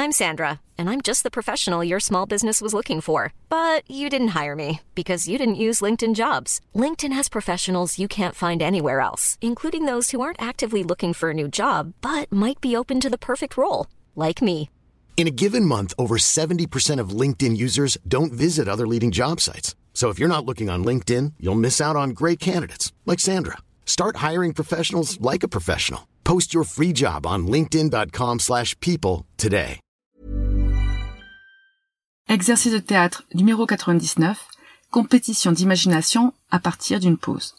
I'm Sandra, and I'm just the professional your small business was looking for. But you didn't hire me because you didn't use LinkedIn Jobs. LinkedIn has professionals you can't find anywhere else, including those who aren't actively looking for a new job, but might be open to the perfect role, like me. In a given month, over 70% of LinkedIn users don't visit other leading job sites. So if you're not looking on LinkedIn, you'll miss out on great candidates like Sandra. Start hiring professionals like a professional. Post your free job on linkedin.com/people today. Exercice de théâtre numéro 99, compétition d'imagination à partir d'une pause.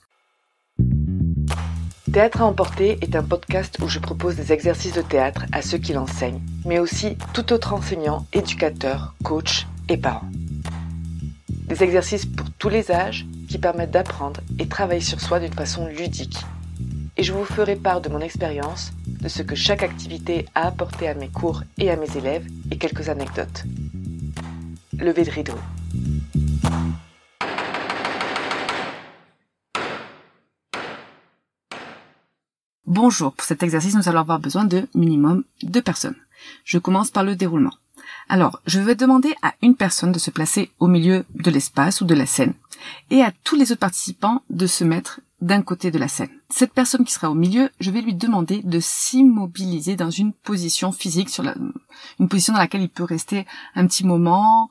Théâtre à emporter est un podcast où je propose des exercices de théâtre à ceux qui l'enseignent, mais aussi tout autre enseignant, éducateur, coach et parent. Des exercices pour tous les âges qui permettent d'apprendre et travailler sur soi d'une façon ludique. Et je vous ferai part de mon expérience, de ce que chaque activité a apporté à mes cours et à mes élèves et quelques anecdotes. Levée de rideau. Bonjour, pour cet exercice, nous allons avoir besoin de minimum 2 personnes. Je commence par le déroulement. Alors, je vais demander à une personne de se placer au milieu de l'espace ou de la scène et à tous les autres participants de se mettre d'un côté de la scène. Cette personne qui sera au milieu, je vais lui demander de s'immobiliser dans une position physique, une position dans laquelle il peut rester un petit moment,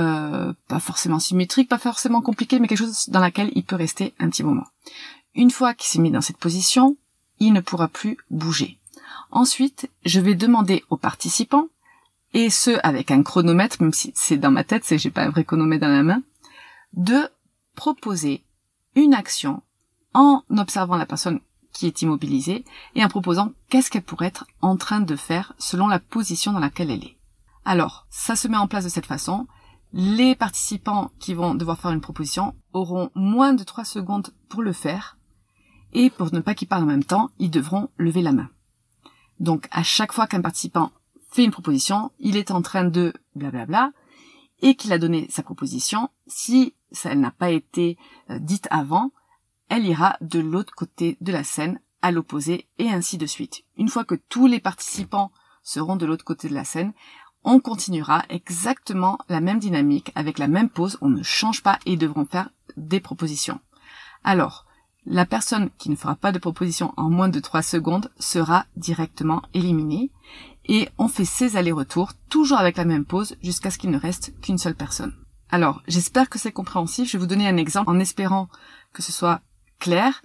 pas forcément symétrique, pas forcément compliqué, mais quelque chose dans laquelle il peut rester un petit moment. Une fois qu'il s'est mis dans cette position, il ne pourra plus bouger. Ensuite, je vais demander aux participants, et ce avec un chronomètre, même si c'est dans ma tête, j'ai pas un vrai chronomètre dans la main, de proposer une action en observant la personne qui est immobilisée et en proposant qu'est-ce qu'elle pourrait être en train de faire selon la position dans laquelle elle est. Alors, ça se met en place de cette façon. Les participants qui vont devoir faire une proposition auront moins de 3 secondes pour le faire et pour ne pas qu'ils parlent en même temps, ils devront lever la main. Donc, à chaque fois qu'un participant fait une proposition, il est en train de blablabla et qu'il a donné sa proposition. Si elle n'a pas été dite avant, elle ira de l'autre côté de la scène, à l'opposé, et ainsi de suite. Une fois que tous les participants seront de l'autre côté de la scène, on continuera exactement la même dynamique, avec la même pause, on ne change pas et ils devront faire des propositions. Alors, la personne qui ne fera pas de proposition en moins de 3 secondes sera directement éliminée, et on fait ces allers-retours, toujours avec la même pause, jusqu'à ce qu'il ne reste qu'une seule personne. Alors, j'espère que c'est compréhensif, je vais vous donner un exemple en espérant que ce soit clair.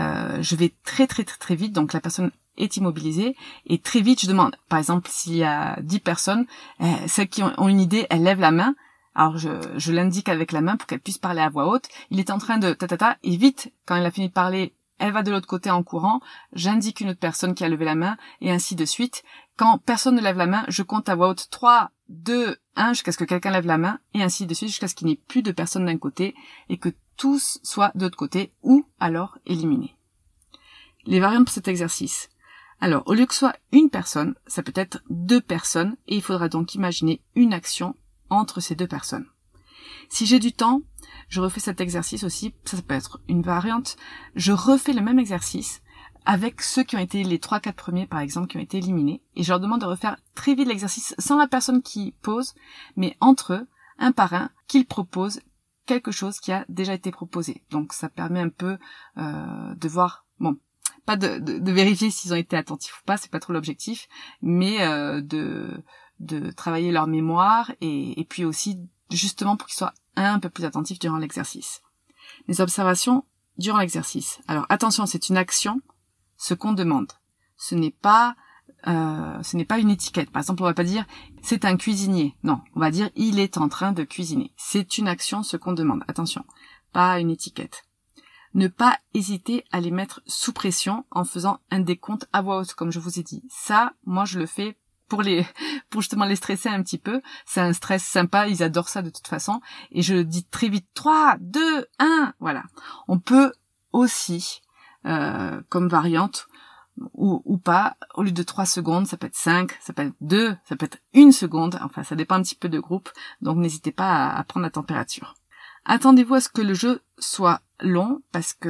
Je vais très vite, donc la personne est immobilisée, et très vite je demande, par exemple s'il y a 10 personnes, celles qui ont une idée, elles lèvent la main, alors je l'indique avec la main pour qu'elle puisse parler à voix haute, il est en train de et vite, quand elle a fini de parler, elle va de l'autre côté en courant, j'indique une autre personne qui a levé la main, et ainsi de suite. Quand personne ne lève la main, je compte à voix haute 3, 2, 1, jusqu'à ce que quelqu'un lève la main, et ainsi de suite, jusqu'à ce qu'il n'y ait plus de personnes d'un côté, et que tous soient de l'autre côté, ou alors éliminés. Les variantes pour cet exercice. Alors, au lieu que ce soit une personne, ça peut être 2 personnes, et il faudra donc imaginer une action entre ces 2 personnes. Si j'ai du temps, je refais cet exercice aussi, ça peut être une variante, je refais le même exercice, avec ceux qui ont été les 3-4 premiers, par exemple, qui ont été éliminés, et je leur demande de refaire très vite l'exercice sans la personne qui pose, mais entre eux, un par un, qu'ils proposent quelque chose qui a déjà été proposé. Donc ça permet un peu de voir, pas de vérifier s'ils ont été attentifs ou pas, c'est pas trop l'objectif, mais de travailler leur mémoire et puis aussi justement pour qu'ils soient un peu plus attentifs durant l'exercice. Les observations durant l'exercice. Alors attention, c'est une action, ce qu'on demande. Ce n'est pas une étiquette. Par exemple, on va pas dire c'est un cuisinier. Non, on va dire il est en train de cuisiner. C'est une action, ce qu'on demande. Attention, pas une étiquette. Ne pas hésiter à les mettre sous pression en faisant un décompte à voix haute, comme je vous ai dit. Ça, moi, je le fais pour justement les stresser un petit peu. C'est un stress sympa, ils adorent ça de toute façon. Et je dis très vite 3, 2, 1, voilà. On peut aussi, comme variante, ou pas, au lieu de 3 secondes, ça peut être 5, ça peut être 2, ça peut être 1 seconde, enfin ça dépend un petit peu de groupe, donc n'hésitez pas à prendre la température. Attendez-vous à ce que le jeu soit long, parce que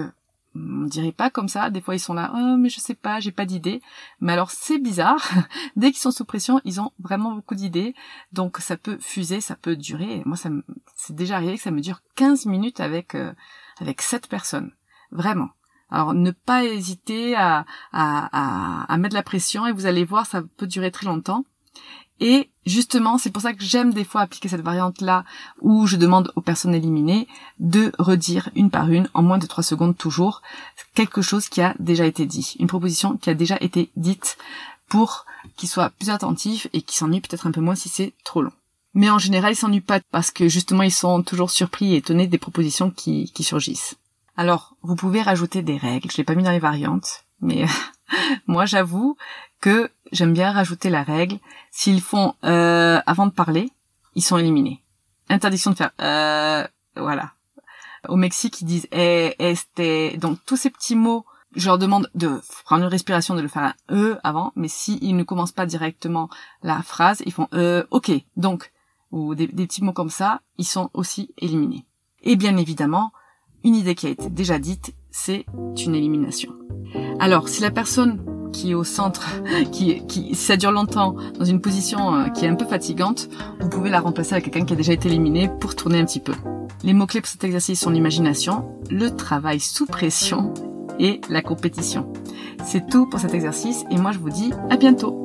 On dirait pas comme ça. Des fois, ils sont là, oh, mais je sais pas, j'ai pas d'idée. Mais alors, c'est bizarre. Dès qu'ils sont sous pression, ils ont vraiment beaucoup d'idées. Donc, ça peut fuser, ça peut durer. Et moi, c'est déjà arrivé que ça me dure 15 minutes avec 7 personnes. Vraiment. Alors, ne pas hésiter à mettre la pression et vous allez voir, ça peut durer très longtemps. Et justement, c'est pour ça que j'aime des fois appliquer cette variante-là où je demande aux personnes éliminées de redire une par une, en moins de 3 secondes toujours, quelque chose qui a déjà été dit, une proposition qui a déjà été dite pour qu'ils soient plus attentifs et qu'ils s'ennuient peut-être un peu moins si c'est trop long. Mais en général, ils s'ennuient pas parce que justement, ils sont toujours surpris et étonnés des propositions qui surgissent. Alors, vous pouvez rajouter des règles, je l'ai pas mis dans les variantes, mais moi j'avoue que j'aime bien rajouter la règle. S'ils font avant de parler, ils sont éliminés. Interdiction de faire voilà. Au Mexique, ils disent este. Donc tous ces petits mots, je leur demande de prendre une respiration, de le faire un avant, mais s'ils ne commencent pas directement la phrase, ils font ok. Donc ou des petits mots comme ça, ils sont aussi éliminés. Et bien évidemment, une idée qui a été déjà dite, c'est une élimination. Alors, si la personne qui est au centre, qui ça dure longtemps, dans une position qui est un peu fatigante, vous pouvez la remplacer avec quelqu'un qui a déjà été éliminé pour tourner un petit peu. Les mots-clés pour cet exercice sont l'imagination, le travail sous pression et la compétition. C'est tout pour cet exercice et moi je vous dis à bientôt.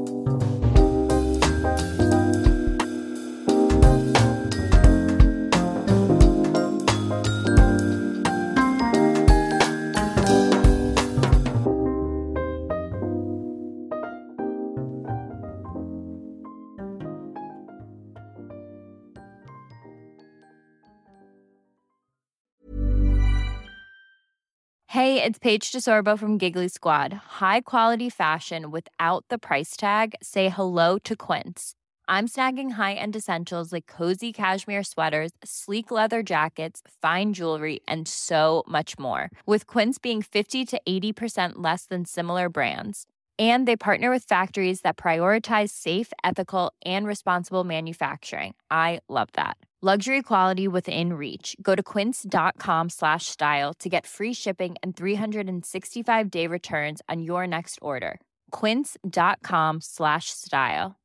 Hey, it's Paige DeSorbo from Giggly Squad. High quality fashion without the price tag. Say hello to Quince. I'm snagging high-end essentials like cozy cashmere sweaters, sleek leather jackets, fine jewelry, and so much more. With Quince being 50 to 80% less than similar brands. And they partner with factories that prioritize safe, ethical, and responsible manufacturing. I love that. Luxury quality within reach. Go to quince.com/style to get free shipping and 365-day returns on your next order. Quince.com/style.